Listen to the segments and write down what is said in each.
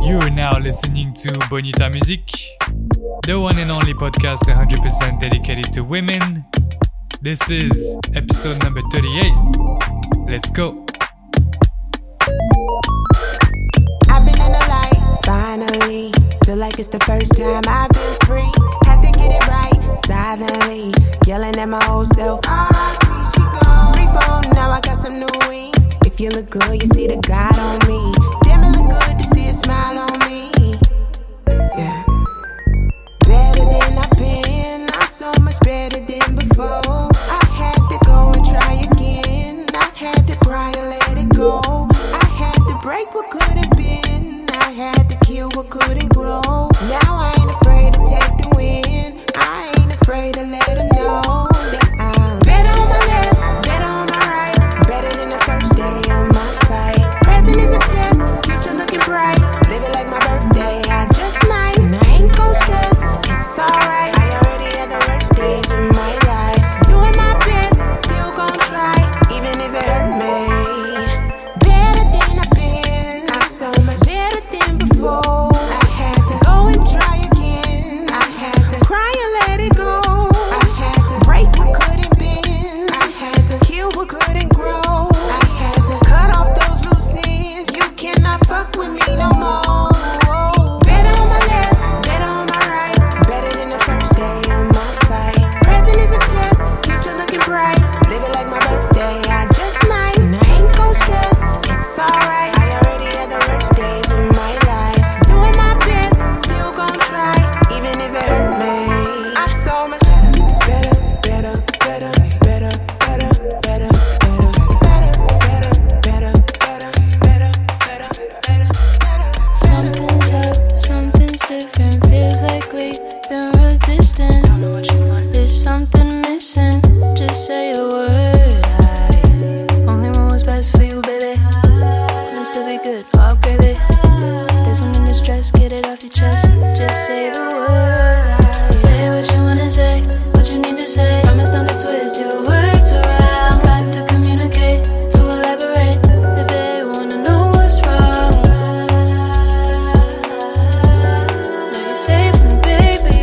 You're now listening to Bonita Music, the one and only podcast 100% dedicated to women. This is episode number 38. Let's go. I've been in the light, finally. Feel like it's the first time I've been free. Had to get it right, silently. Yelling at my old self. R.I.P. she gone. Reborn, now I got some new wings. If you look good, you see the God on me. Damn, it look good to see a smile on me. Yeah. Better than I've been. I'm so much better than before. I had to go and try again. I had to cry and let it go. I had to break what could have been. I had to kill what couldn't grow. Now I ain't afraid to take the win. I ain't afraid to let them know that I'm better on my left, better on my right. Better than the first day of my fight. Present is a test, future looking bright. Live it like my birthday, I just might. And I ain't gon' stress, it's alright. I already had the worst days of my life. Doing my best, still gon' try, even if it hurt me. Better than I've been, I'm so much better than before. I had to go and try again. I had to cry and let it go. I had to break what couldn't bend. I had to kill what couldn't grow. I had to cut off those loose ends. You cannot fuck with me no more. Better on my left, better on my right. Better than the first day of my fight. Present is a test, future looking bright. Live it like my birthday, I just might. And I ain't gon' stress, it's alright. I already had the worst days of my life. Doing my best, still gon' try, even if it hurt me. I'm so much better, better, better, better, better, better, better, better, better, better, better, better, better, better, better. Something's up, something's different. Feels like we've been real distant. Don't know what you want. There's something missing. Just say the word. I only want what's best for you, baby. Wants to be good, all gravy. There's one in the stress, get it off your chest. Just say the word. I say what you wanna say, what you need to say. Promise not to twist your words around. Got to communicate, to elaborate. Baby, wanna know what's wrong. Now you're safe with me, baby.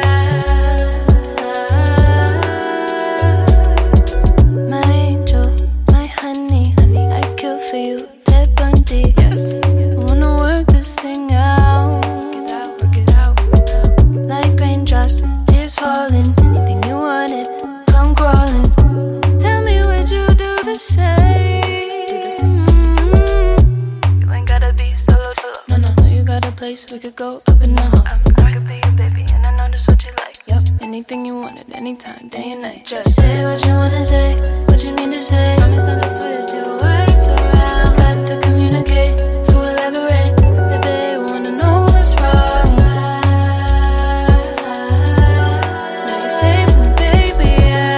My angel, my honey, I kill for you, Ted Bundy. Yes, I wanna work this thing out. Work it out. Like raindrops, tears falling. Anything you wanted, come crawling. Tell me, would you do the same? You ain't gotta be solo. No, you got a place we could go up and down. I could be your baby, and I know that's what you like. Yup, anything you wanted, anytime, day and night. Just say what you wanna say, what you need to say. Promise not to twist your words around. Got to communicate, to elaborate. Baby, wanna know what's wrong. Now you're safe with me, baby.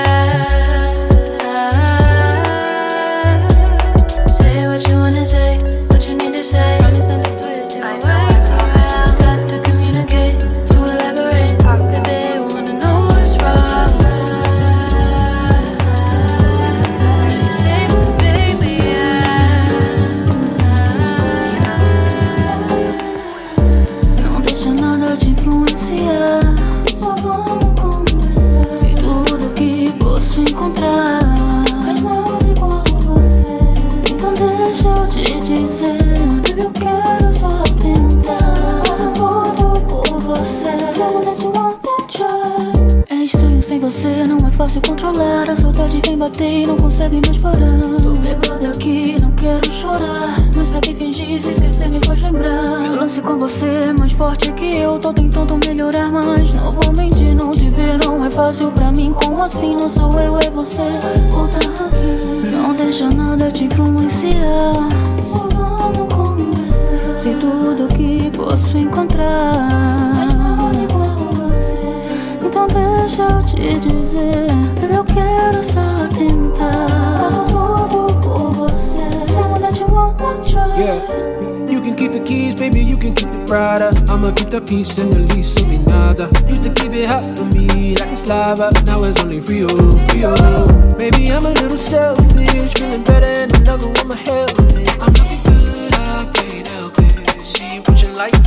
Say what you wanna say, what you need to say. Promise not to twist your words around. Got to communicate, to elaborate. Baby, wanna know what's wrong. Now you're safe with me, baby. Não deixa nada te influenciar. Só vamos conversar. Sei tudo que posso encontrar, mas nada igual você. Então deixa eu te dizer, baby, eu quero só tentar. Faço tudo por você. Tell me that you wanna try. É estranho sem você, não é fácil controlar. A saudade vem bater e não consegue mais parar. Tô bêbada aqui, não quero chorar, mas pra que fingir se esquecer me faz lembrar. Meu lance com você é mais forte que eu. Tô tentando melhorar, mas não vou mentir. Não te ver não é fácil pra mim. Como assim? Não sou eu, é você. Volta aqui. Não deixa nada te influenciar. Só vamos conversar. Sei tudo que posso encontrar, mas nada igual você. Então deixa eu te dizer, baby, eu quero só tentar. Faço tudo por você. Tell me that you wanna try. Yeah, you can keep the keys, baby, you can keep the Prada. I'ma keep the peace and release me nada. Used to keep it hot for me like it's lava. Now it's only Rio, Rio. Maybe I'm a little selfish, feeling better and in love with my health. I'm looking good, I can't help it. See what you like.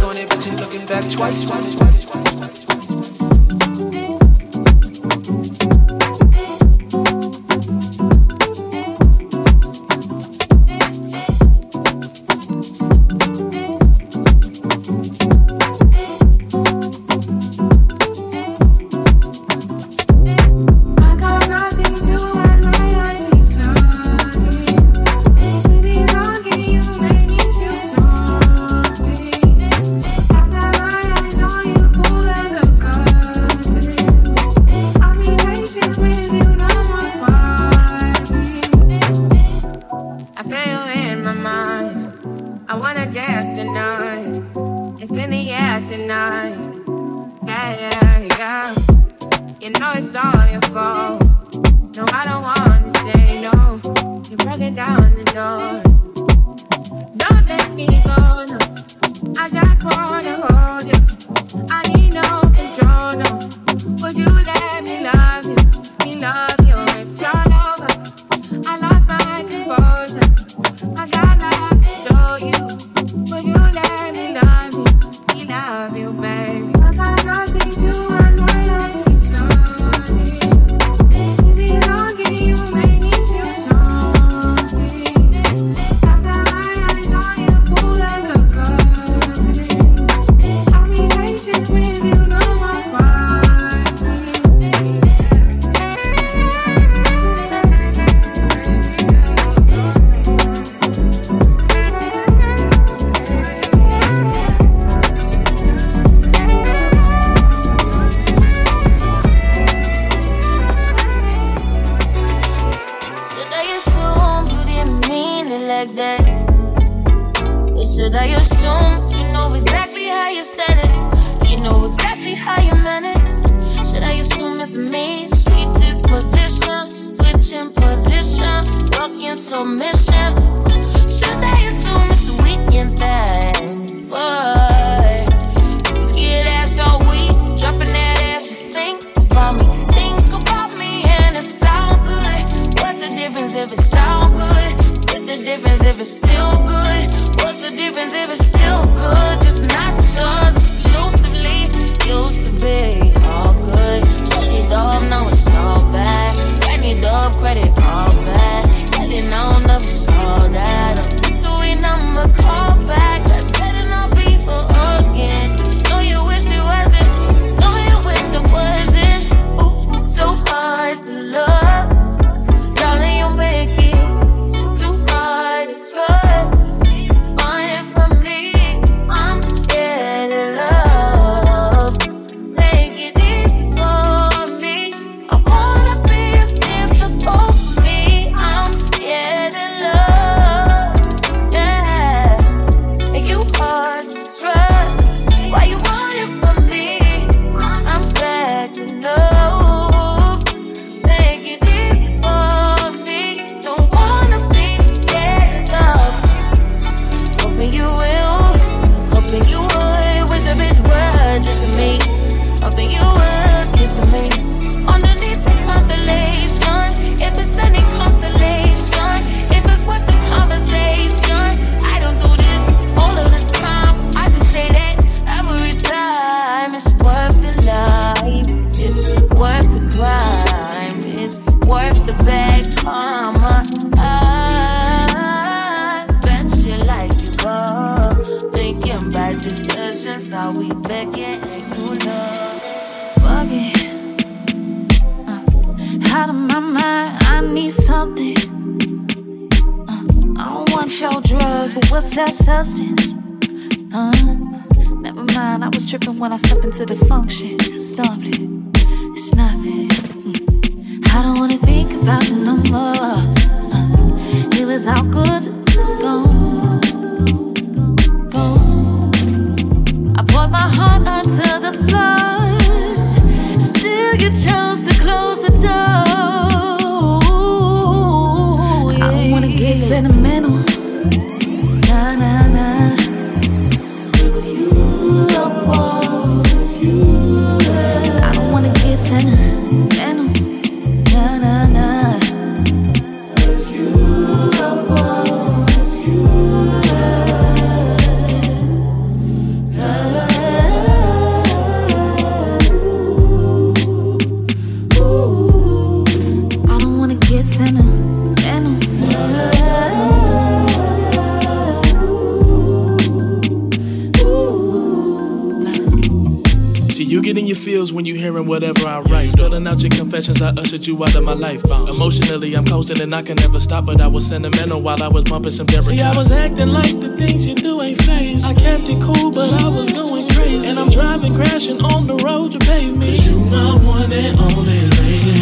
in your feels when you hearing whatever I write. Spilling out your confessions, I ushered you out of my life. Emotionally, I'm coasting and I can never stop, but I was sentimental while I was bumping some Derrick. See, I was acting like the things you do ain't phased. I kept it cool, but I was going crazy. And I'm driving, crashing on the road you paved me. 'Cause you my one and only lady.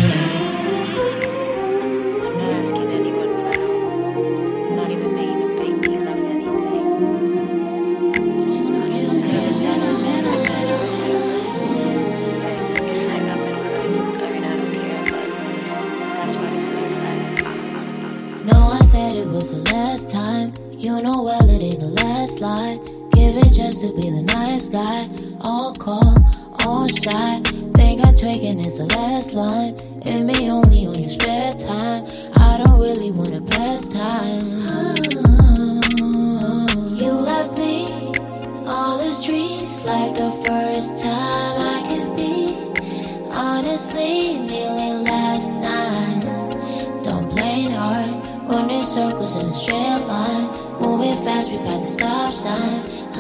It was the last time, you know well it ain't the last lie. Give it just to be the nice guy. All calm, all shy. Think I'm tweaking is the last line. It may only on your spare time. I don't really wanna pass time. You left me on the streets like the first time I could be. Honestly, nearly last night. Don't play hard. Running circles in a straight line. Moving fast, we pass the stop sign.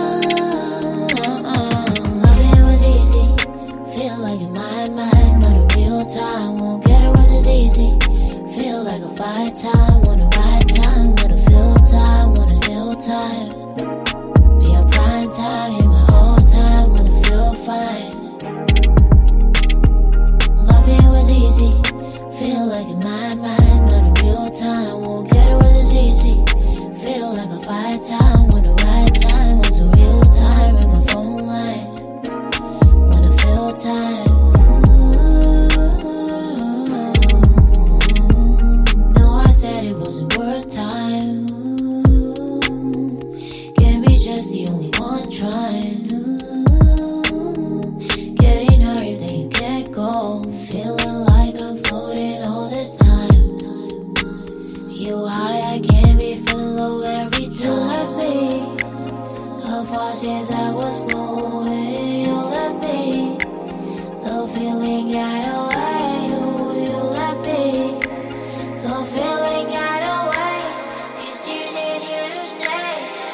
Loving was easy. Feel like in my mind, not a real time. Won't get it when it's easy. Feel like a fight time. Wanna ride time, wanna feel time, wanna feel time. Be on prime time, hit my whole time, wanna feel fine. Loving was easy. Feel like in my mind, not a real time. Won't get it when it's easy. Feel like a fight time. Wanna ride time. Was a real time in my phone line. Wanna feel time. No, I said it wasn't worth time. Can't be just the only one trying. Getting hurt, then you can't go. Feeling like I'm floating all this time. You high, I can't be feeling low every time. You left me a faucet that was flowing. You left me, the feeling got away. You left me, the feeling got away. These tears ain't here to stay,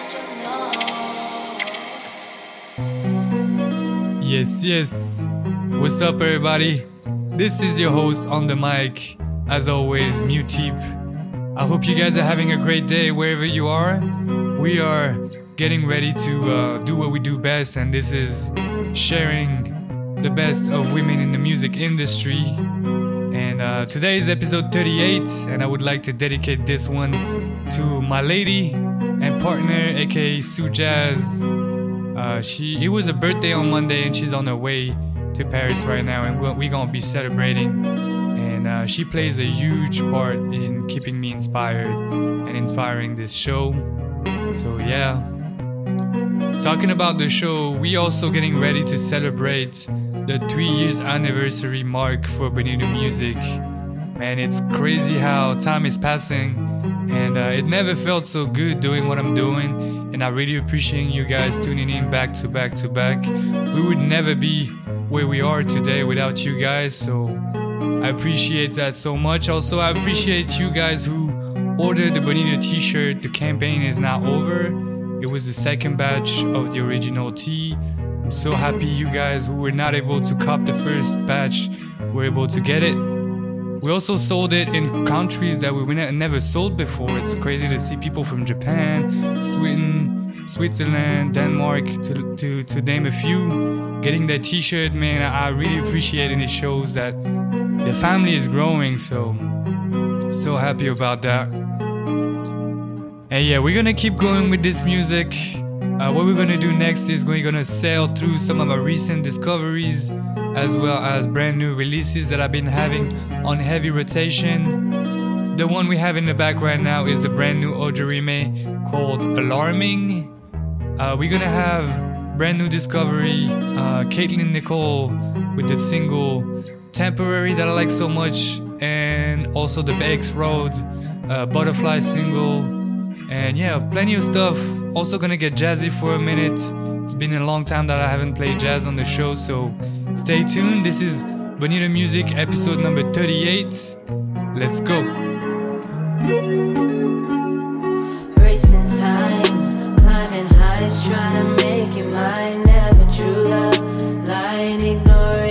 and you know. Yes. What's up, everybody? This is your host on the mic, as always, Muteep. I hope you guys are having a great day wherever you are. We are getting ready to do what we do best, and this is sharing the best of women in the music industry. And today is episode 38, and I would like to dedicate this one to my lady and partner, aka Sue Jazz. It was a birthday on Monday, and she's on her way to Paris right now, and we're gonna be celebrating. And she plays a huge part in keeping me inspired and inspiring this show. So yeah, talking about the show, we also getting ready to celebrate the 3 years anniversary mark for Bonita Music. Man, it's crazy how time is passing, and it never felt so good doing what I'm doing, and I really appreciate you guys tuning in back to back to back. We would never be where we are today without you guys, so I appreciate that so much. Also, I appreciate you guys who ordered the Bonita t-shirt. The campaign is now over. It was the second batch of the original tee. I'm so happy you guys who were not able to cop the first batch were able to get it. We also sold it in countries that we never sold before. It's crazy to see people from Japan, Sweden, Switzerland, Denmark, to name a few, getting that t-shirt. Man, I really appreciate it, and it shows that the family is growing, so happy about that. And yeah, we're gonna keep going with this music. What we're gonna do next is we're gonna sail through some of our recent discoveries, as well as brand new releases that I've been having on heavy rotation. The one we have in the back right now is the brand new Ojurime called Alarming. We're gonna have brand new discovery, Caitlin Nicole with the single Temporary that I like so much, and also the X Road Butterfly single. And yeah, plenty of stuff. Also gonna get jazzy for a minute. It's been a long time that I haven't played jazz on the show, so stay tuned. This is Bonita Music episode number 38. Let's go. Racing time, climbing heights, trying to make it mine. Never true love, lying, ignorant.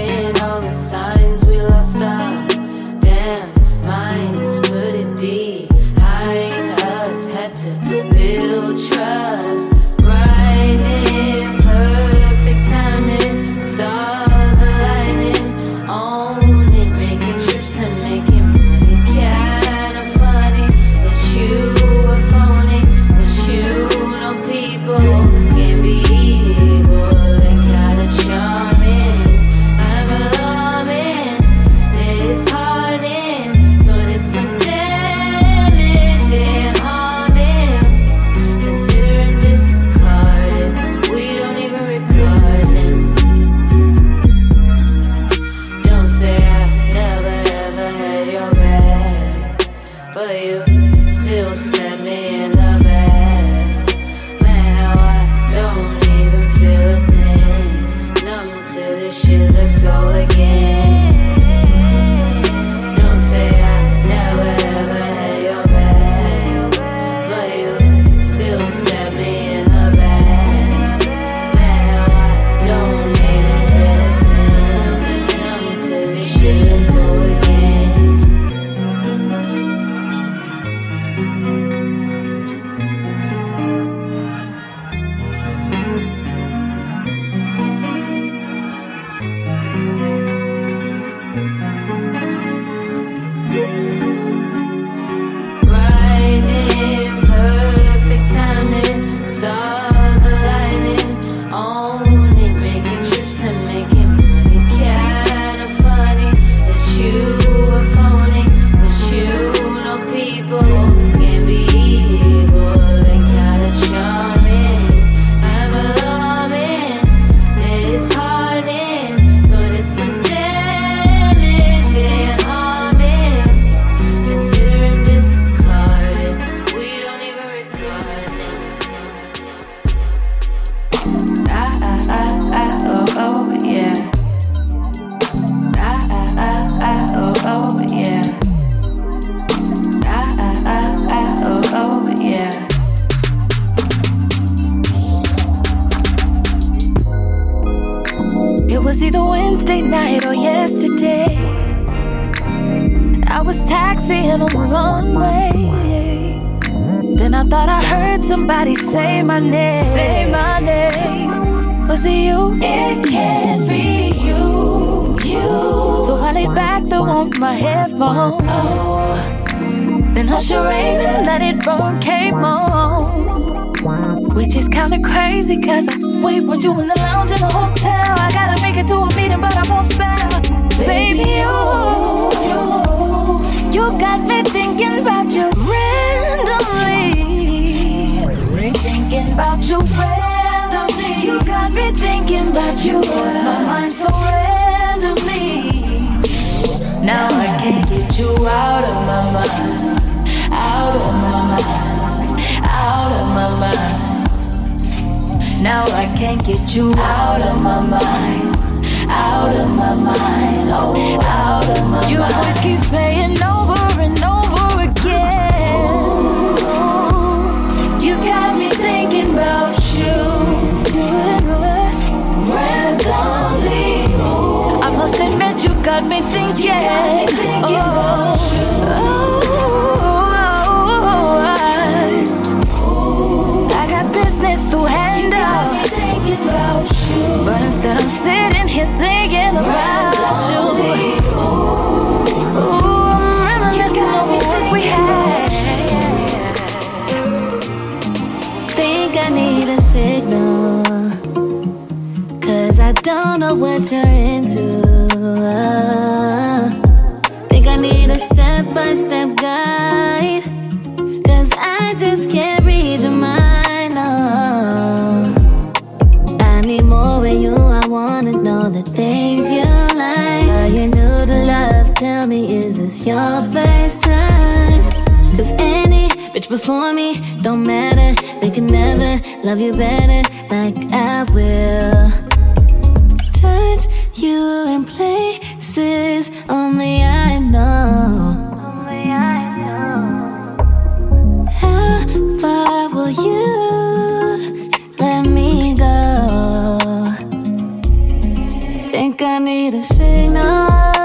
still stab me in the back. Man, how I don't even feel a thing. Numb to this shit, let's go again. Don't say I never ever had your back, but you still stab me in the back. Man, how I don't even feel a thing. Numb to this shit, let's go again. Grinding, perfect timing, stars aligning, only making trips and making money. Kinda funny that you were phony, but you know people can be evil and kinda charming. I'm alarming, it's hardening, so there's some damage they're harming. Consider him discarded, we don't even regard him. Oh, yeah. Oh, yeah. Oh, yeah. It was either Wednesday night or yesterday. I was taxiing on the runway. Then I thought I heard somebody say my name. Say my name. Was it you? It can't be you. So I lay back, threw on my headphones. Oh. Then hush your rain and let it burn, came on. Which is kinda crazy, cause I wait when you in the lounge in the hotel. I gotta make it to a meeting, but I won't spell. Baby, you got me thinking about you randomly. Thinking about you randomly. You got me thinking about you. Lost my mind so randomly. Now I can't get you out of my mind. Out of my mind. Out of my mind. Now I can't get you out of my mind. Out of my mind. Oh, out of my mind. Your voice keeps playing over and over again. You got me thinking about you. Randomly. I must admit you got me thinking. About you. I got business to handle. About you. But instead I'm sitting here thinking about you. Ooh, I'm reminiscing on what we had. Think I need a signal, cause I don't know what you're into. Think I need a step-by-step guide, cause I just can't read your mind, no. I need more of you, I wanna know the things you like. Are you new to love? Tell me, is this your first time? Cause any bitch before me don't matter. They can never love you better like I will. Touch you in places only I know. How far will you let me go? Think I need a signal.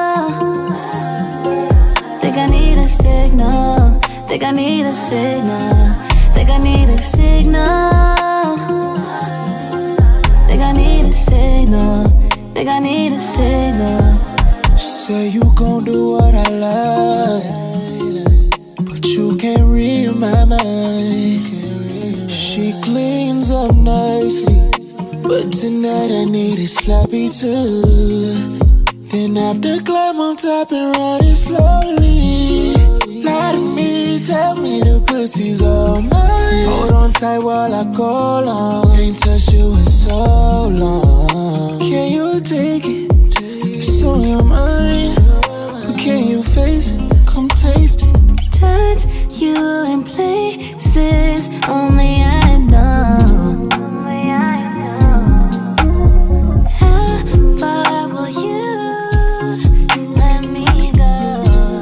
Think I need a signal. Think I need a signal. Think I need a signal. Think I need a signal. Think I need a signal. Say you gon' do what I like, but you can't read my mind. She cleans up nicely, but tonight I need it sloppy too. Then after climb on top and ride it slowly. Lie to me, tell me the pussy's all mine. Hold on tight while I go long. Ain't touched you in so long. Can you take it? It's on your mind. But can you face it? Come taste it. Touch you in places only I know. How far will you let me go?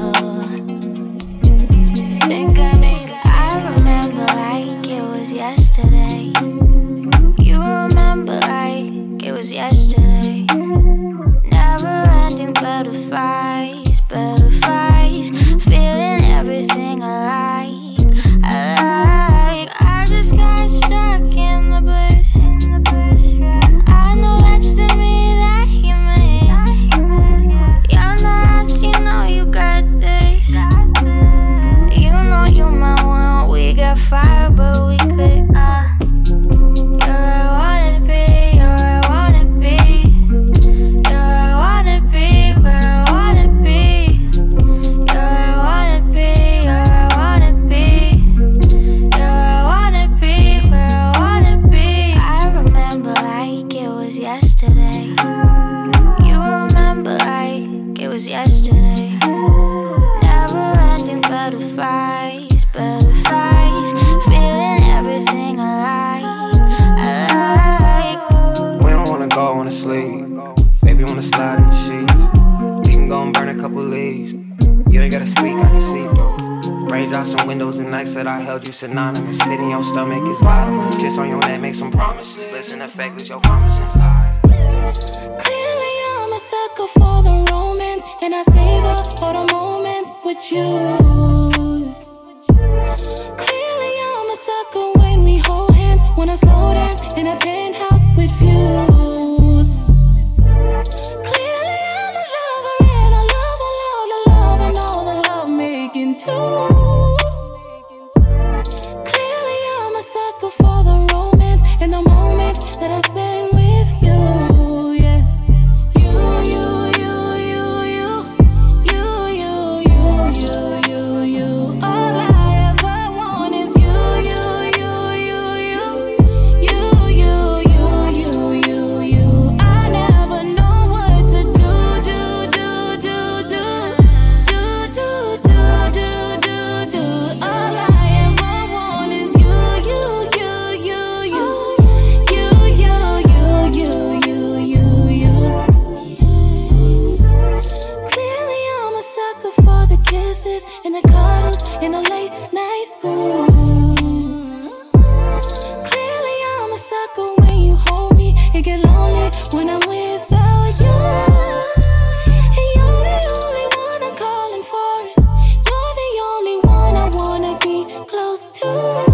I remember like it was yesterday. You remember like it was yesterday. Never ending butterflies, butterflies, feeling everything alike, alike. I just got stuck in the bush. I know that's the me that you miss. You're not, you know you got this. You know you're my one. We got fire, but we could. You're where I wanna be. You're where I wanna be. You're where I wanna be. Where I wanna be. You're where I wanna be. You're where I wanna be. You're where I wanna be. Where I wanna be. I remember like it was yesterday. You remember like it was yesterday. Never ending butterflies, butterflies, feeling everything alike, alike. We don't wanna go on to sleep. Baby wanna slide in the sheets. We can go and burn a couple leaves. You ain't gotta speak, I can see though. Raindrops on windows and nights that I held you synonymous. Spit in your stomach is bottomless. Kiss on your neck, make some promises. Bliss in effect, let your promise inside. Clearly I'm a sucker for the romance, and I savor all the moments with you. Clearly I'm a sucker when we hold hands, wanna slow dance in a penthouse with views. Clearly I'm a lover and I love all the love and all the love making too. Clearly I'm a sucker for the romance and the moments that I spend with you, yeah. All I ever want is you. I never know what to do. All I ever want is you. Clearly I'm a sucker for the kisses and the cuddles in the late night ooh. Clearly I'm a sucker when you hold me. It get lonely when I'm without you. And you're the only one I'm calling for it. You're the only one I wanna be close to.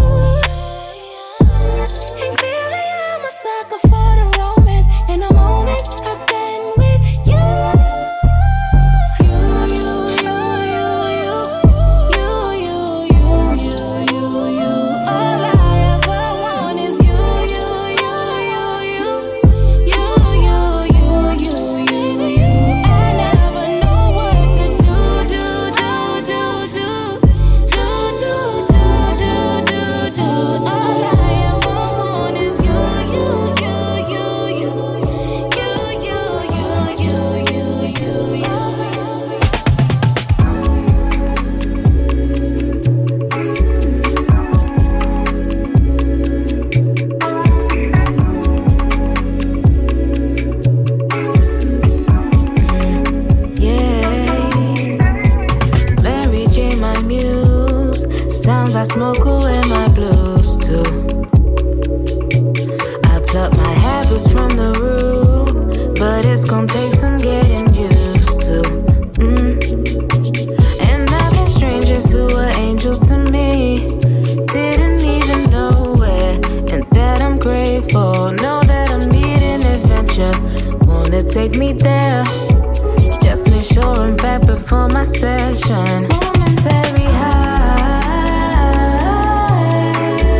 And clearly I'm a sucker for the romance and the moments I spend with you. All I ever want is you. I never know what to do. All I ever want is Mary J, my muse. Sounds I smoke away my blues too. I pluck my habits from the root, but it's gonna take some getting used to. And I've been strangers who were angels to me. Didn't even know where, and that I'm grateful. Know that I'm needing adventure. Wanna take me there? Just make sure I'm back before my session. Momentary high,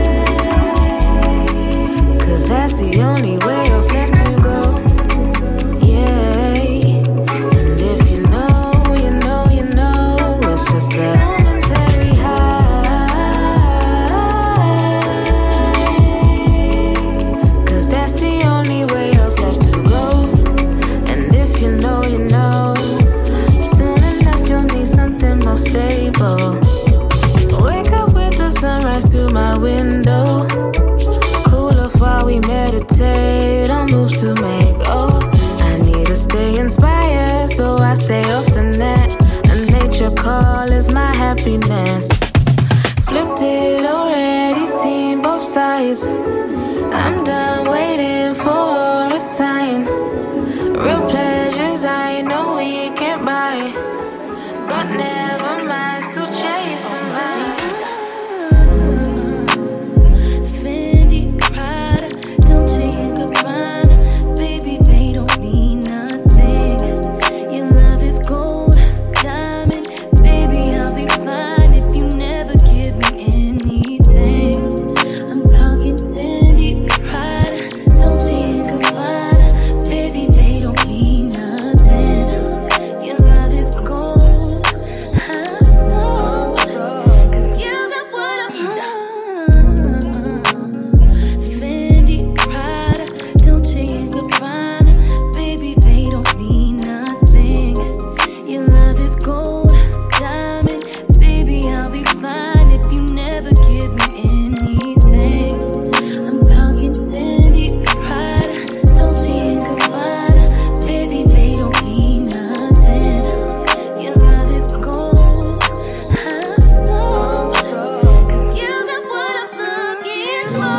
'cause that's the only way else left to go. Yeah, and if you know, it's just a momentary high, 'cause that's the only way else left to go. And if you know, soon enough you'll need something more stable. my window. Cool off while we meditate on moves to make. Oh, I need to stay inspired, so I stay off the net. A nature call is my happiness. Flipped it already, seen both sides. I'm done waiting for a sign. Real pleasures I know we can't buy, but never mind, still chasing mine. Fendi, Prada, Dolce & Gabbana, baby, they don't mean nothing. Your love is gold, diamond, baby, I'll be fine if you never give me anything. I'm talking Fendi, Prada, Dolce & Gabbana, baby, they don't mean nothing. Your love is gold, I'm sold, 'cause you got what I want. Fendi, Prada, Dolce & Gabbana, baby, they don't mean nothing. Your love is gold, diamond, baby, I'll be fine if you never give me anything. I'm talking Fendi, Prada, Dolce & Gabbana, baby, they don't mean nothing. Your love is gold, I'm sold, 'cause you got what I'm looking for.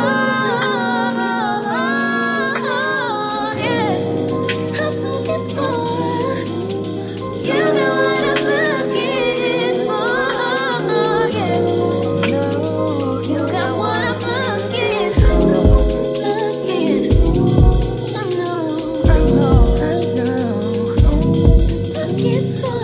Yeah, I'm looking for. You got what I'm looking for. Yeah, you got what I'm looking for. I know. Looking for.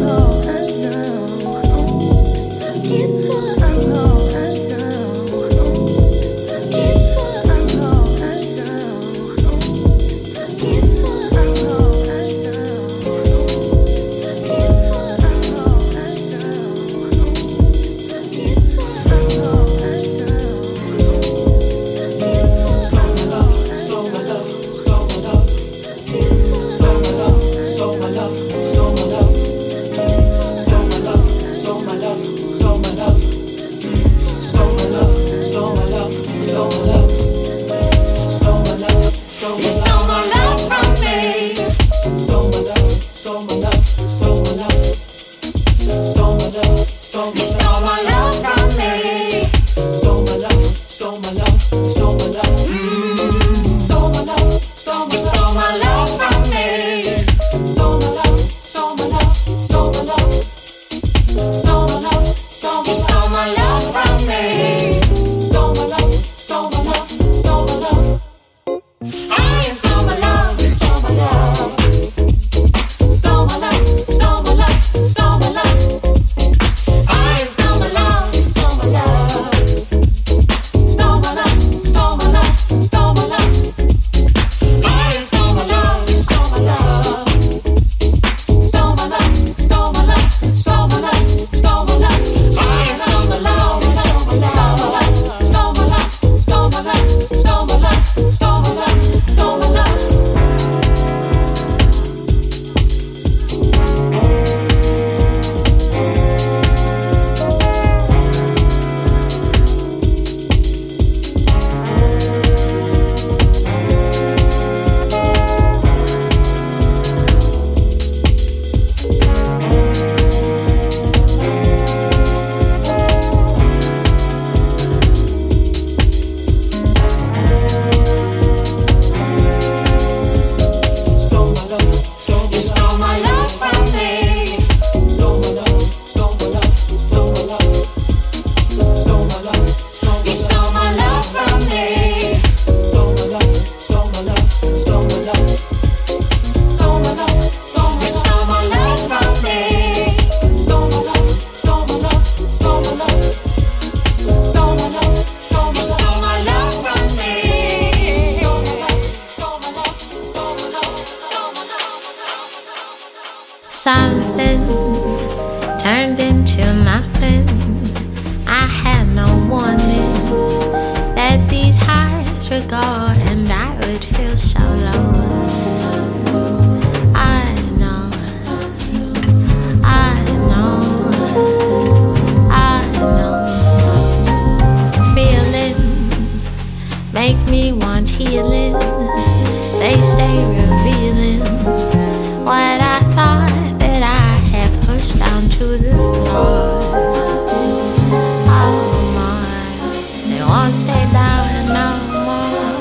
You stole my love from me. Stole my love, stole my love, stole my love. Stole my love, stole my love. You stole my love from me. Stole my love, stole my love, stole my love. Stole my love, stole my love. You stole my love from me. Stole my love, stole my love, stole my love. Stole my love, stole my love. You stole my love from me. Stole my love, stole my love, stole my love. I stole my love, you stole my love. Stole my love, stole my love, stole my love. I stole my love, you stole my love. Stole my love, stole my love, stole my love. I stole my love, you stole my love. Stole my love, stole my love, stole my love, stole my love. I stole my love, stole my love, stole my love, stole my love, stole my love, stole my love, stole my love. You stole my love from me. Stole my love, stole my love, stole my love. Stole my love, stole my love. You stole my love from me. Stole my love, stole my love, stole my love. Stole my love, stole my love. You stole my love from me. Stole my love, stole my love, stole my love. Stole my love, stole my love. You stole my love from me. Stole my love, stole my love, stole my love, stole my love. Something turned into nothing. I had no warning that these highs would go and I would feel so low. I know, I know, I know. make me want healing. They stay revealing what I thought that I had pushed down to the floor. Oh my, they won't stay down no more.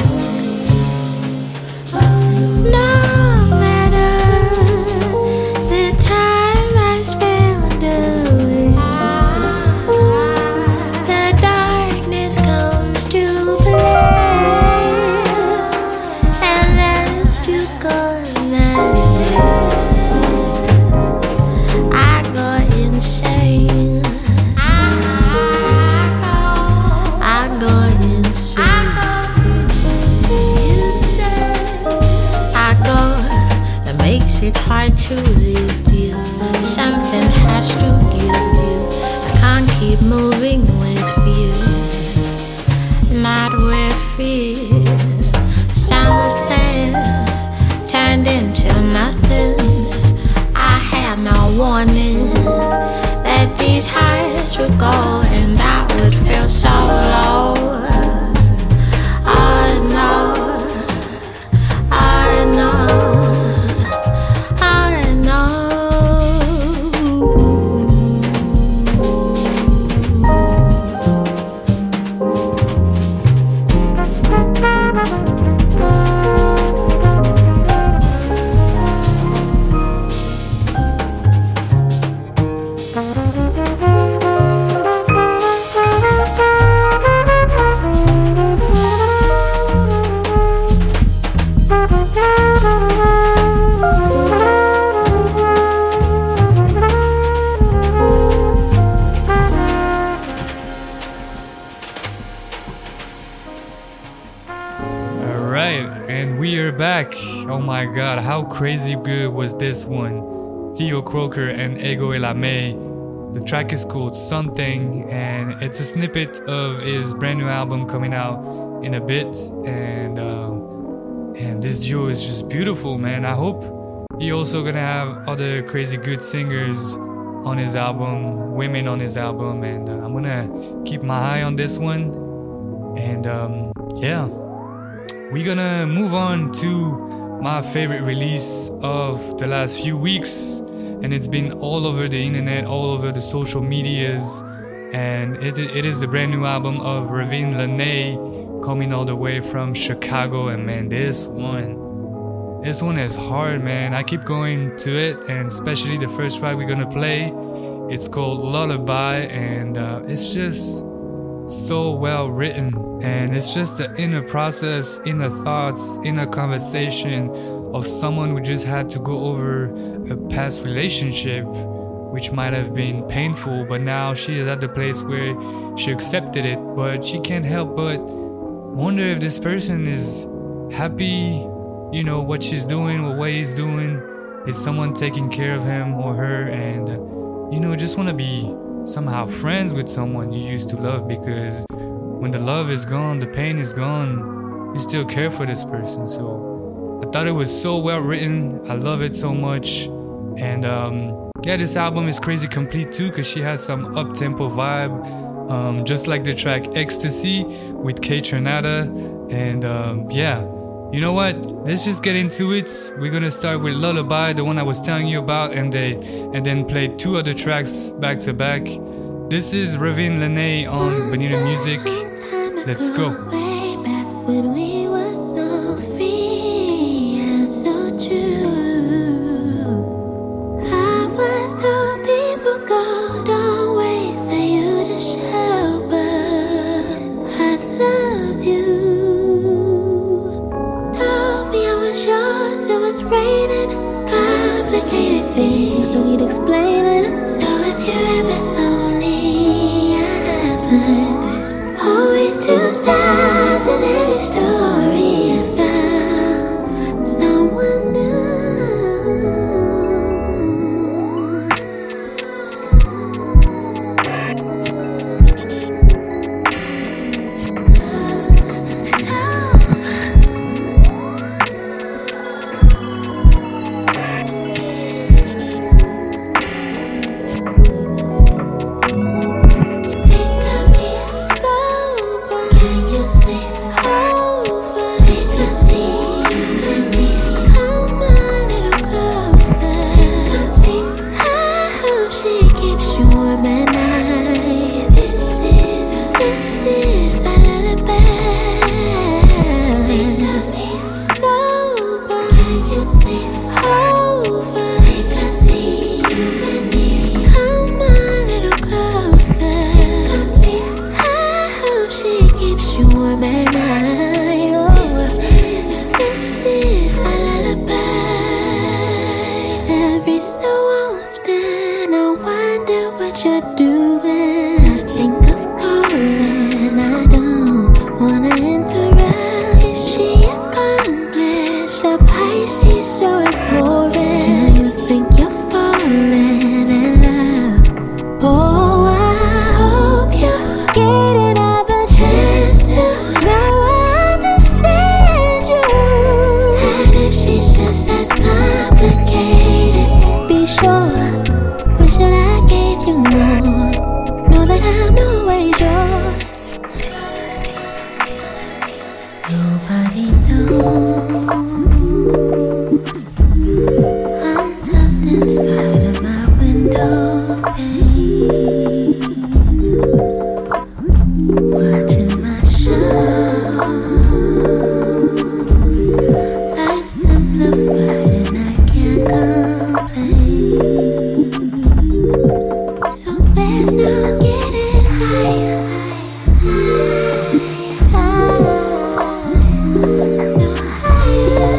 No matter the time I spend away, the darkness comes to play, and as to go I go insane. I go insane. I go, it makes it hard to live, dear. Something has to give, dear. I can't keep moving with fear, not with fear. Something turned into nothing. I had no warning that these highs would go and I would feel so low. I know, I know, I know. Back. Oh my god, how crazy good was this one? Theo Croker and Ego Elame. The track is called Something, and it's a snippet of his brand new album coming out in a bit. And this duo is just beautiful, man. I hope he also gonna have other crazy good singers on his album, women on his album, and I'm gonna keep my eye on this one. And yeah. We're gonna move on to my favorite release of the last few weeks, and it's been all over the internet, all over the social medias, and it is the brand new album of Ravine Lene, coming all the way from Chicago. And man, this one is hard, man. I keep going to it, and especially the first track we're gonna play, it's called Lullaby, and it's just so well written, and it's just the inner process, inner thoughts, inner conversation of someone who just had to go over a past relationship which might have been painful, but now she is at the place where she accepted it, but she can't help but wonder if this person is happy, you know, what she's doing, what he's doing. Is someone taking care of him or her? And you know, just want to be somehow friends with someone you used to love, because when the love is gone, the pain is gone, you still care for this person. So I thought it was so well written. I love it so much. And yeah, this album is crazy complete too, because she has some up-tempo vibe, just like the track Ecstasy with Kay Trinata. And yeah, you know what, let's just get into it. We're gonna start with Lullaby, the one I was telling you about, and then play two other tracks back to back. This is Ravine Lene on Bonita Music. Let's go. Way back when we were so free and so true. I was told people go, don't wait for you to show, but I love you. Told me I was yours, it was raining. Complicated things don't need explaining. So if you're ever lonely, I have this. Always two sides in every story. I found someone new. Think of me sober. Can you sleep? is a lullaby. Think of me sober, it's over. Take a seat, you and me. Come a little closer. I hope she keeps you warm at night. Oh, this is a lullaby. Every so often I wonder what you're doing. I think of calling, I don't wanna interrupt. Is she accomplished? A Pisces or a Taurus? Do you think you're falling in love? Oh, I hope you're getting another chance to. Now I understand you. And if she's just as complicated, be sure, wish that I gave you more. Know that I'm always yours. Nobody knows I'm tucked inside of my window pane, watching my shows. Life's simplified and I can't complain. So there's no getting higher. No higher.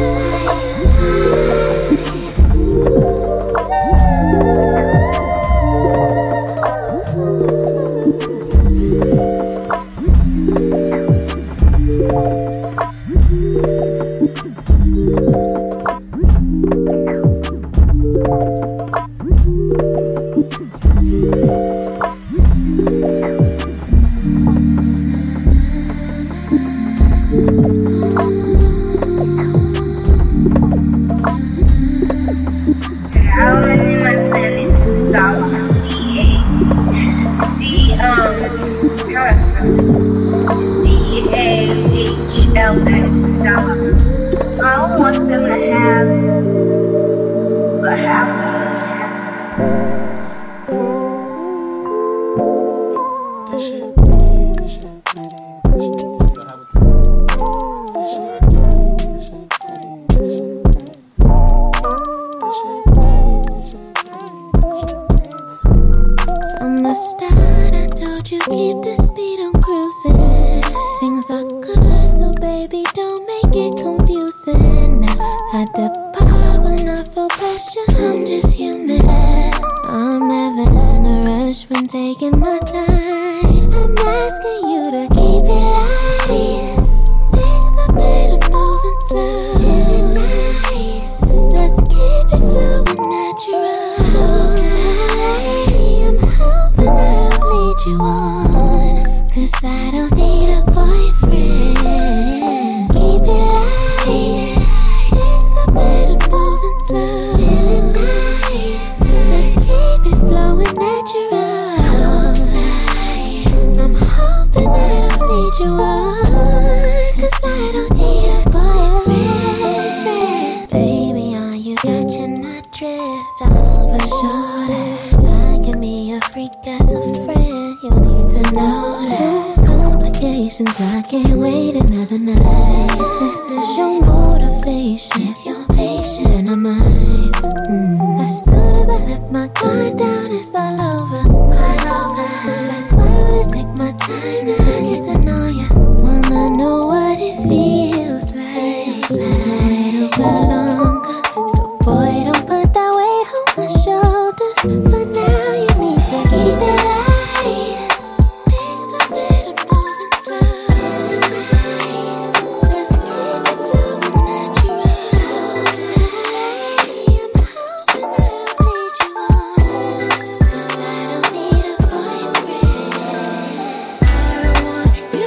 How many months in it? South DAHLS. I don't want them to have a half of From the start, I told you keep the speed on cruising. Things are good, so baby, don't make it confusing. Now, at the bar when I feel pressure, I'm just human. I'm never in a rush when taking my time. I'm asking you to keep it light. Things are better moving slow. Feeling nice, let's keep it flowing natural. I'm hoping I don't lead you on, 'cause I don't need a boyfriend. Keep it light. Things are better moving slow. Feeling nice, let's keep it flowing natural. I'm hoping I don't lead you on, 'cause I don't need a boyfriend. Baby, are you catching my drift? Down over shoulder, I can be a freak as a friend. You need to know that complications, I can't wait another night. This is your motivation. If you're patient, and I might. As soon as I let my guard down, it's all over. That's why I wanna take my time to get to know you. Wanna know what it feels like. To wait a while longer, so boy, don't put that weight on my shoulders. For now, you need to keep it light. Things are better moving slow. Nice, let's keep it flowing natural. I'm hoping I don't lead you on, 'cause I don't need a boyfriend. I want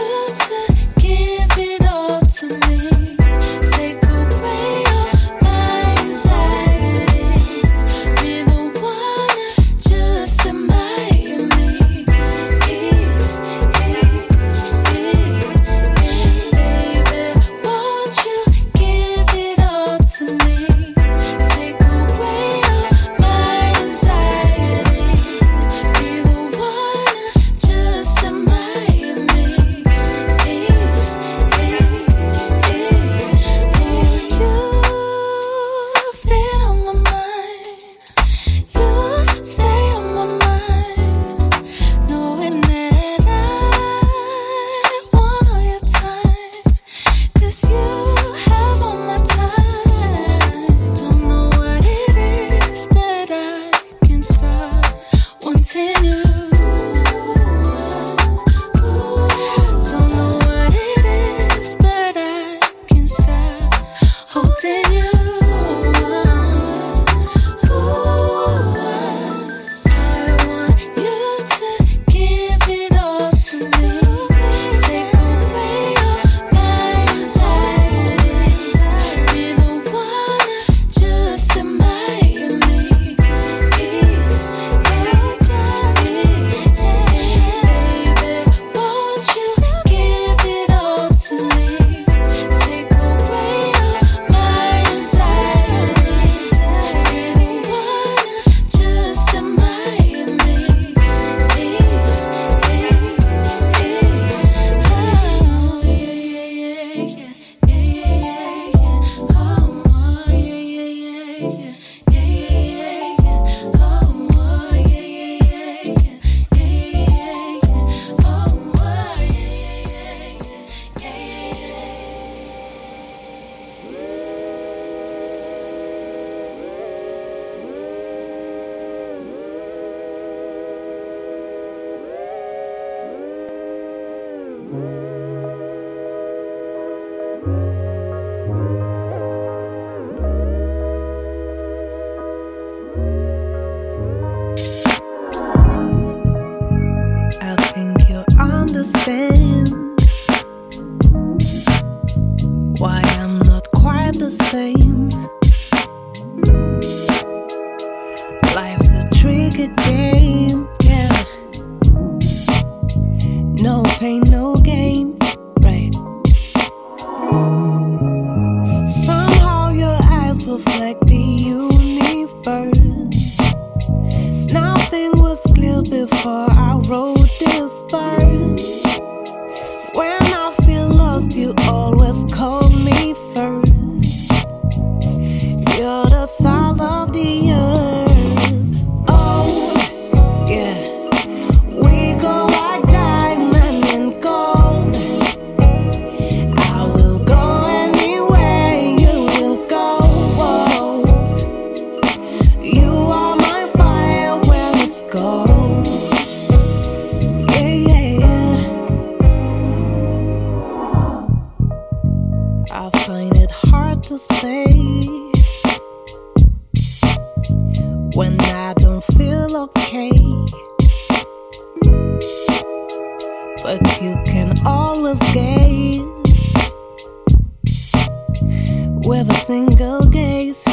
to say when I don't feel okay. But you can always gaze with a single gaze.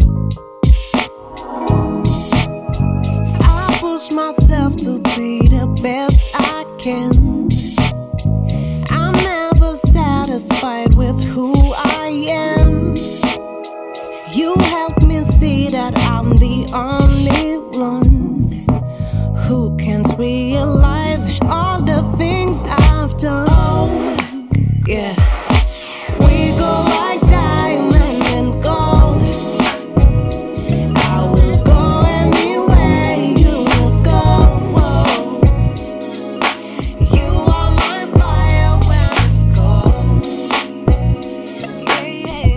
I push myself to be the best I can. I'm never satisfied with who I am. You help me see that I'm the only one who can't realize all the things I've done. Yeah, we go like diamond and gold. I will go anywhere you will go. You are my fire when it's cold. Yeah,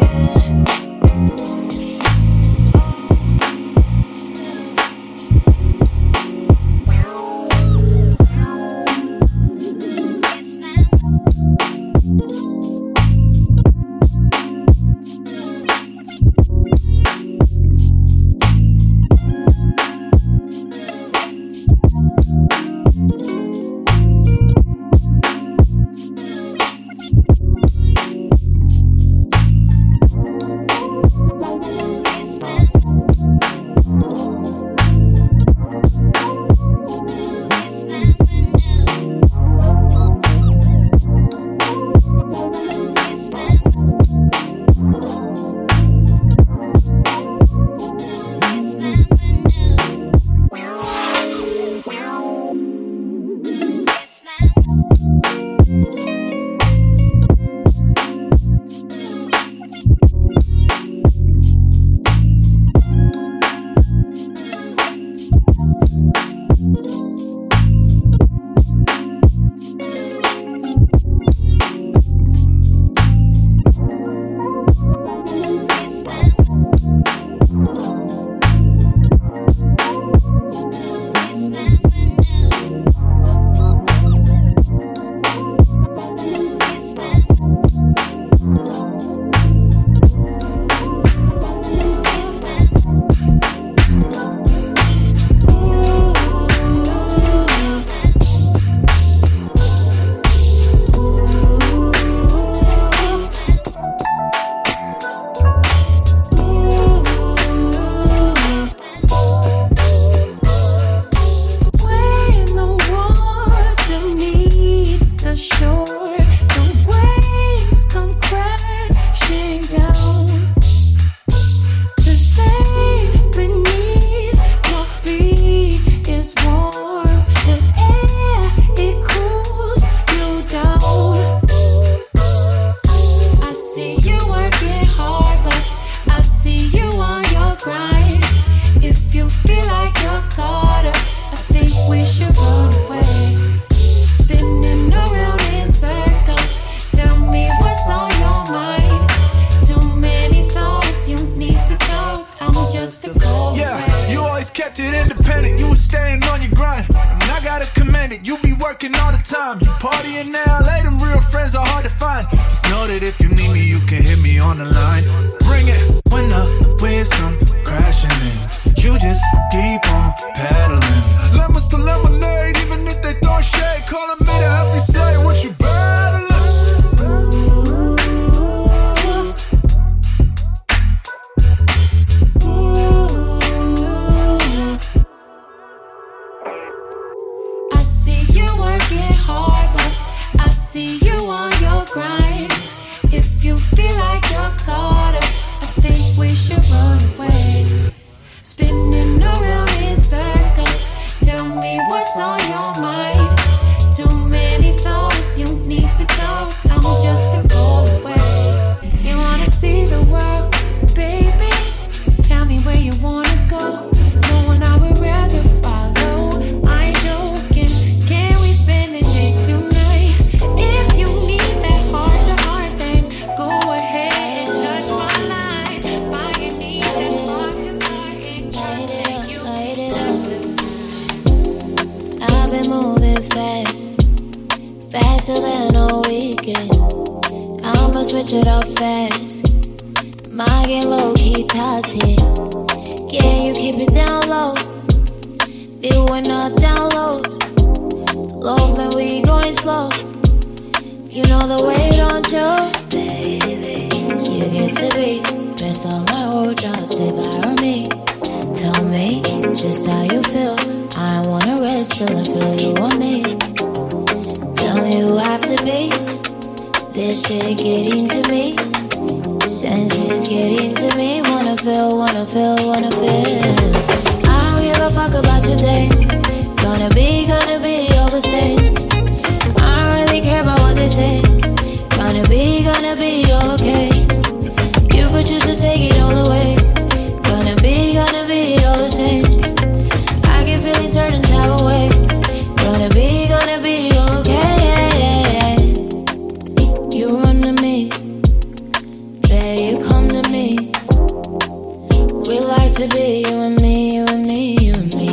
I'ma switch it up fast. My game low key tati. Yeah, you keep it down low. Feel when I download. Love when we going slow. You know the way, don't you? You get to be best on my whole job. Stay by me. Tell me just how you feel. I wanna rest till I feel you on me. Tell me who I have to be. This shit getting to me. Senses getting to me. Wanna feel, wanna feel, wanna feel. I don't give a fuck about your day. Gonna be all the same. I don't really care about what they say. Gonna be all okay. You could choose to take it all away. Gonna be all the same. I get feeling certain type of way. Gonna be all okay. You run to me, babe, you come to me. We like to be you and me, you and me, you and me.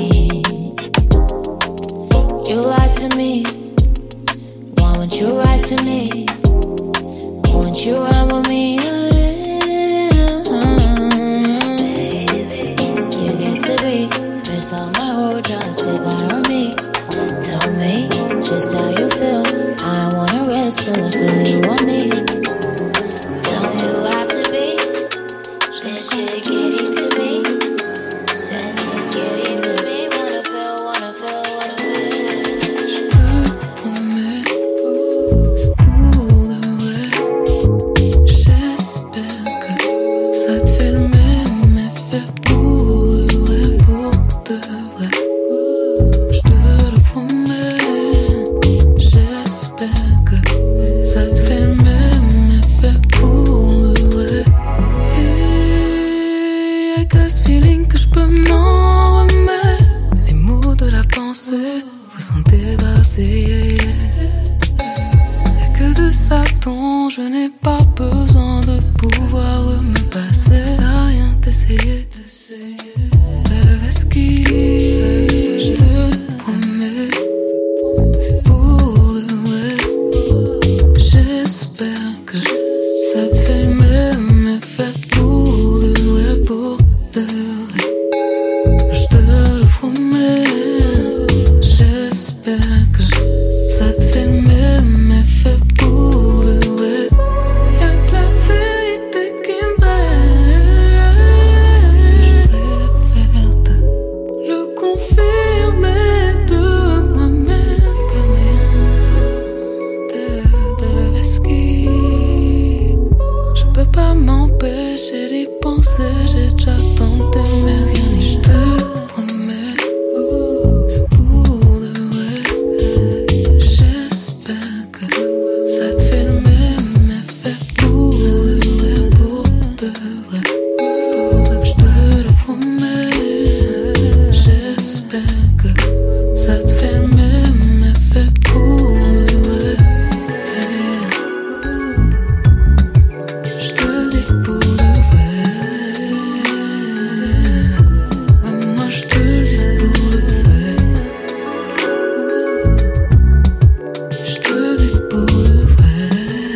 You lie to me, why won't you write to me? Won't you run with me? You get to be best on my whole job, stay by me. Tell me just how you feel. I wanna rest till I feel you on me. Tell me who I have to be. This shit getting to me. Senses getting to me. Wanna feel, wanna feel, wanna feel. Vous sont débarrassés. Y'a que de ça dont je n'ai pas besoin de pouvoir me passer. Ça sert à rien d'essayer. Belle esquive, je te promets. C'est pour de vrai. J'espère que ça te fait le même effet pour de vrai, pour de vrai. Je te le promets. J'espère que ça te fait le même effet pour de vrai. Y'a que la vérité qui me reste. Ce que je préfère te le confirmer de moi-même. Plus rien de la esquive. Je peux pas m'empêcher d'y penser. J'ai déjà tenté mais rien n'y je te promets. C'est pour de vrai. J'espère que ça te fait le même effet pour de vrai, pour de vrai. Je te le promets. J'espère que ça te fait le même effet pour de vrai. Je te le dis pour de vrai. Moi je te le dis pour de vrai. Je te le dis pour de vrai.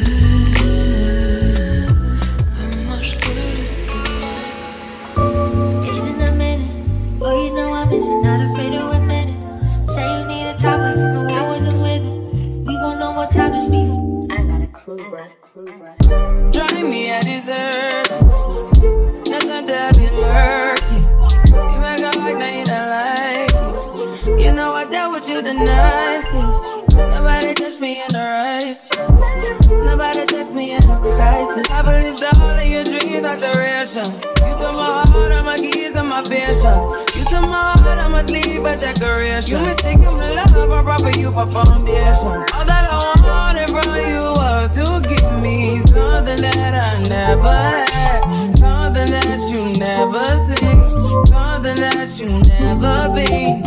Moi je te le dis pour de vrai. It's been a minute. Oh, you know I miss it, not afraid to admit it. Say you need a time, but you know I wasn't with it. We won't know what time to speak. I ain't got a clue, bruh. Drive me a dessert. Nothing to be lurking. You make up like now you don't like it. You know I dealt with you the nicest. Nobody touched me in the righteous. Nobody text me in a crisis. I believed all of your dreams are duration. You took my heart, all my keys, and my patience. You took my heart, I must leave a decoration. You mistaken my love, I brought you for foundation. All that I wanted from you was to give me something that I never had, something that you never seen, something that you never been.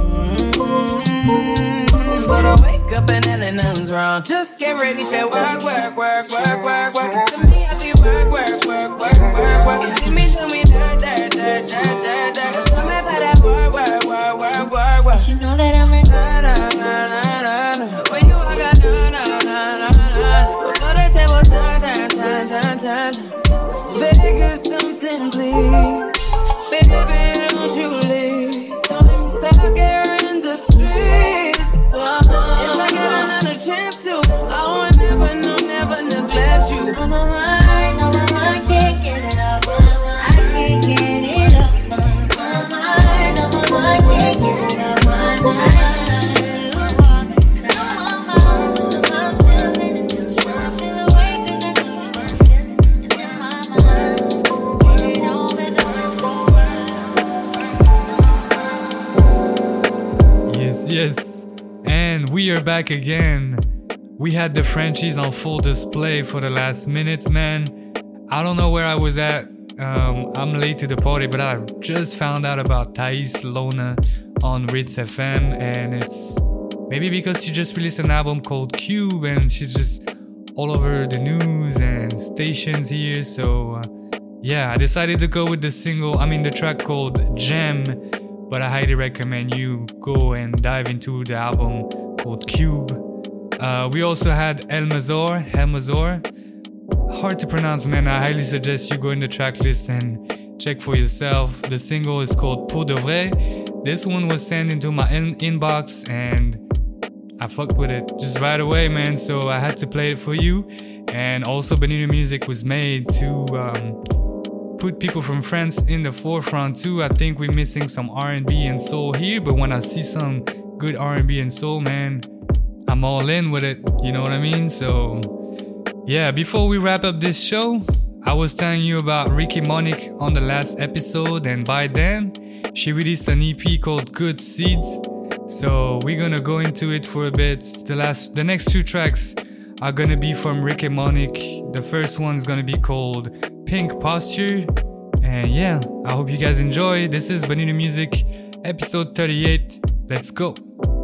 But I wake up and then nothing's wrong. Just get ready for work, work, work, work, work, work. To me, I feel work, work, work, work, work, work. You see me do me dirt, dirt, dirt, dirt, dirt, dirt. Just come and for that work, work, work, work, work, work. You know that I'm a na na na na na. When you walk out, na na na na na. Before the table turn, turn, turn, turn, turn. Baby, beg you something, please. Baby, don't you leave. Don't let me stuck here in the streets. If I get another chance to, I will never, no, never neglect you. On my mind, I can't get it off my mind. I can't get it off my mind. I can't get it off my mind. I'm still in it. I feel away 'cause I know you still feeling it in my mind. Get it over the Yes. And we are back again. We had the Frenchies on full display for the last minutes, man. I don't know where I was at. I'm late to the party, but I just found out about Thais Lona on Ritz FM, and it's maybe because she just released an album called Cube, and she's just all over the news and stations here. So yeah, I decided to go with the track called Gem, but I highly recommend you go and dive into the album called Cube. We also had Helmazor. Hard to pronounce, man. I highly suggest you go in the track list and check for yourself. The single is called Pour de Vrai. This one was sent into my inbox and I fucked with it just right away, man. So I had to play it for you. And also Bonita Music was made to put people from France in the forefront too. I think we're missing some R&B and soul here, but when I see some good R&B and soul, man, I'm all in with it, you know what I mean? So yeah, before we wrap up this show, I was telling you about Ricky Monique on the last episode, and by then she released an EP called Good Seeds. So we're gonna go into it for a bit. The next two tracks are gonna be from Ricky Monique. The first one's gonna be called Pink Posture. And yeah, I hope you guys enjoy. This is Bonita Music, episode 38. Let's go.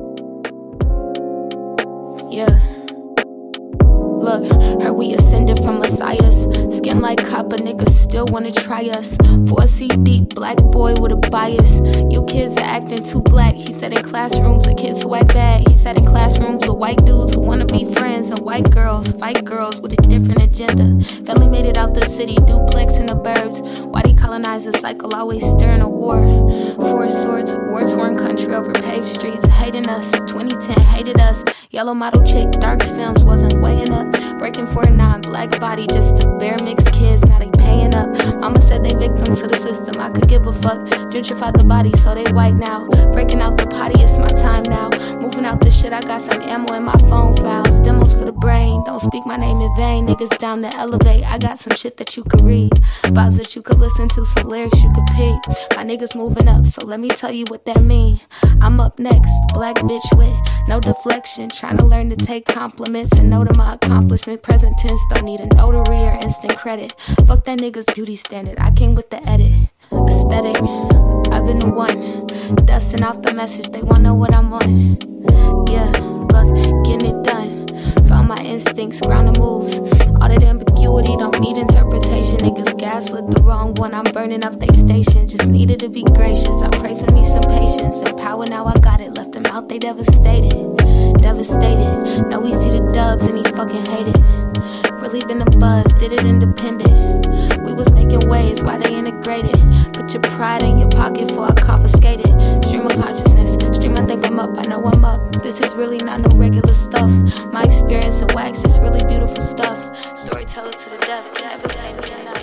Yeah. Look, heard we ascended from messiahs. Skin like copper, niggas still wanna try us. 4C deep, black boy with a bias. You kids are acting too black. He said in classrooms, the kids who act bad. He said in classrooms with white dudes who wanna be friends, and white girls fight girls with a different agenda. Family made it out the city, duplex in the burbs. Why they colonize the cycle, always stirring a war. Four swords, war-torn country over paved streets. Hating us, 2010 hated us. Yellow model chick, dark films wasn't weighing up. Breaking 49, black body just to bear mixed kids, now they paying up. Mama said they victims to the system, I could give a fuck. Gentrified the body so they white now. Breaking out the potty, it's my time now. Moving out the shit, I got some ammo in my phone files. Demos for the brain, don't speak my name in vain. Niggas down to elevate, I got some shit that you could read. Vibes that you could listen to, some lyrics you could pick. My niggas moving up, so let me tell you what that mean. I'm up next, black bitch with no deflection. Trying to learn to take compliments and know to my accomplishment. Present tense, don't need a notary or instant credit. Fuck that nigga's beauty standard, I came with the edit. Aesthetic, I've been the one dusting off the message, they wanna know what I'm on. Yeah, look, getting it done. Found my instincts, ground the moves. All that ambiguity don't need interpretation. Niggas gaslit the wrong one, I'm burning up they station. Just needed to be gracious, I pray for me some patience and power, now I got it. Left them out, they devastated. Now we see the dubs and he fucking hate it. Really been a buzz, did it independent. We was making waves, why they integrated. Put your pride in your pocket before I confiscate it. Stream of consciousness, stream I think I'm up, I know I'm up. This is really not no regular stuff. My experience in wax is really beautiful stuff. Storyteller to the death, never pay me enough.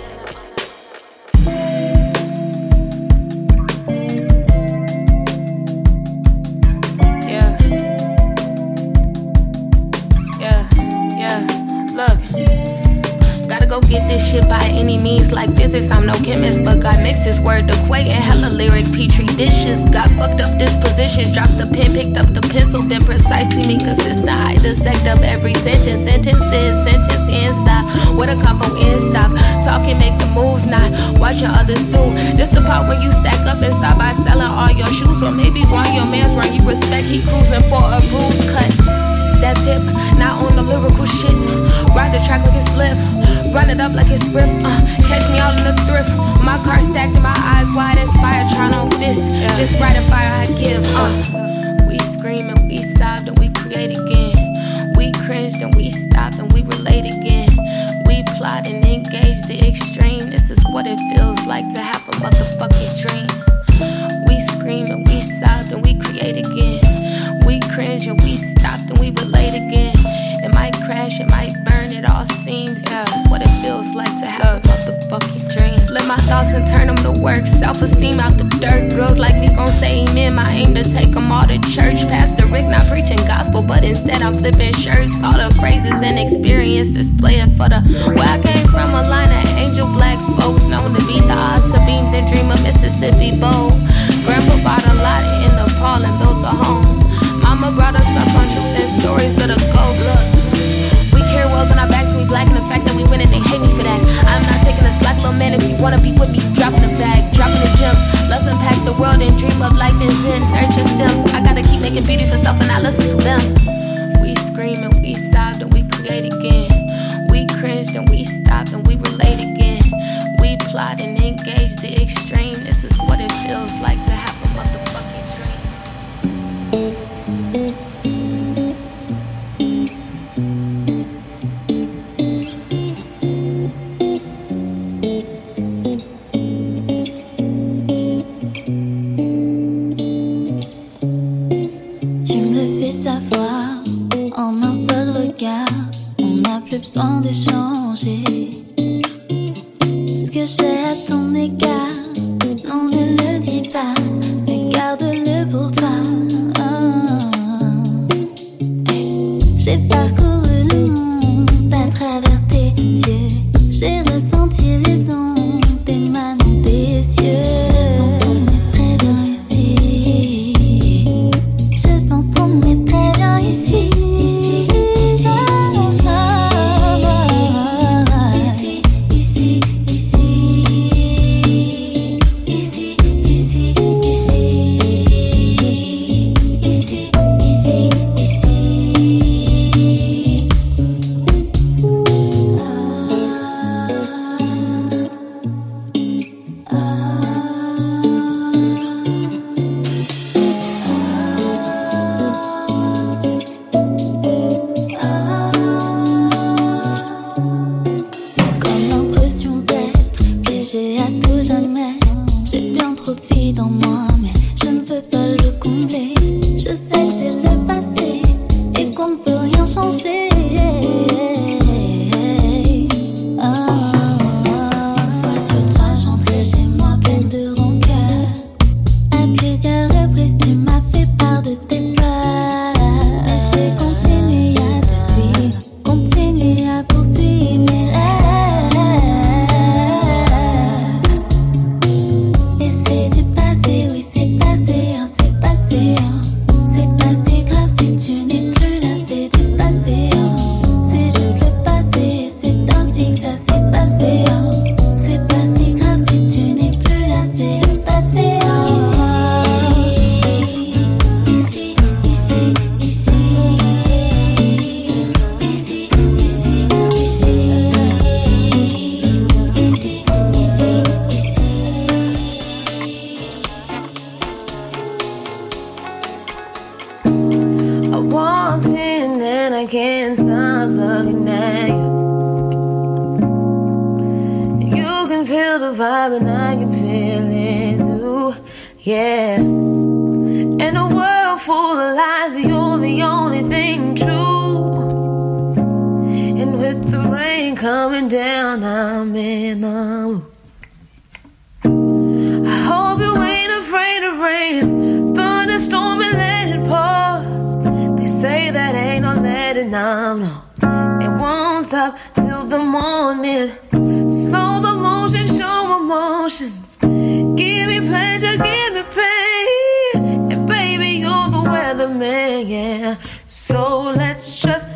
Look, gotta go get this shit by any means. Like physics, I'm no chemist, but God mixes word equating hella lyric petri dishes. Got fucked up dispositions, dropped the pen, picked up the pencil, been precise, seeming consistent. I dissect up every sentence, sentence ends, stop. What a combo end stop. Talking, make the moves, not watching others do. This the part when you stack up and stop by selling all your shoes, or maybe one your man's run you respect. He cruising for a bruise cut. That's hip, not on the lyrical shit. Ride the track like it's lift, run it up like it's grip. Catch me out in the thrift. My car stacked and my eyes wide, inspired, trying on fist. Just riding fire, I give. We scream and we sobbed and we create again. We cringed and we stopped and we relate again. We plot and engage the extreme. This is it feels like to have a motherfucking dream. We scream and we sob and we create again. We cringe and we stop and we relate again. It might crash, it might burn, it all seems. This is what it feels like to have a motherfucking dream. Flip my thoughts and turn them to work. Self-esteem out the dirt. Girls like me gon' say amen. My aim to take them all to church. Pastor Rick not preaching gospel, but instead I'm flipping shirts. All the phrases and experiences playing for the where I came from, a line of angel black folks known to beat the odds, to beam the dream of Mississippi bold. Grandpa bought a lot in Nepal and built a home. Mama brought us up on truth and stories of the gold. Look, we carry wells on our backs and we black, and the fact that we win it, they hate me for that. I'm not taking a slack, little man. If you wanna be with me, dropping the bag, dropping the gems. Let's unpack the world and dream of life and zen. Nurture stems. I gotta keep making beauty for self and I listen to them. We scream and we sobbed and we create again. We cringed and we stopped and we relate again. We plot and engage the extreme. This is what it feels like to have a motherfucking dream. Tu me le fais savoir en un seul regard. On n'a plus besoin d'échanger. Ce que j'ai à ton égard, non, ne le dis pas, mais garde-le pour toi. J'ai parcouru le monde à travers tes yeux. J'ai ressenti les ondes émanant des cieux. Je pense qu'on est très bien ici. Je pense qu'on est très bien ici. Ici, ici, ici. Ici, ici, ici. Ici, ici, ici. Ici, ici, ici. Comme l'impression d'être piégée à tout jamais. J'ai bien trop de filles dans moi, mais je ne veux pas le combler. Je sais que c'est le passé et qu'on ne peut rien changer. Une fois sur trois, j'entrais chez moi pleine de rancœur. À plusieurs reprises, tu m'as fait part de tes peurs. Mais j'ai continué à te suivre, continué à poursuivre mes rêves. Et c'est du passé, oui, c'est passé, hein, c'est passé, hein. C'est pas si grave si tu n'es plus là, c'est du passé, hein. C'est juste le passé, c'est ainsi que ça s'est passé, hein. C'est pas si grave si tu n'es plus là, c'est le passé, hein. Ici, ici, ici. Ici, ici, ici. Ici, ici, ici. I walked in and I can't stop looking at you. You can feel the vibe and I can feel it too, yeah. In a world full of lies, you're the only thing true. And with the rain coming down, I'm in the mood. I hope you ain't afraid of rain. Thunderstorm and let it pour. They say that ain't no letting down, no. It won't stop till the morning. Slow the motion, show emotions. Give me pleasure, give me pain. And baby, you're the weatherman, yeah. So let's just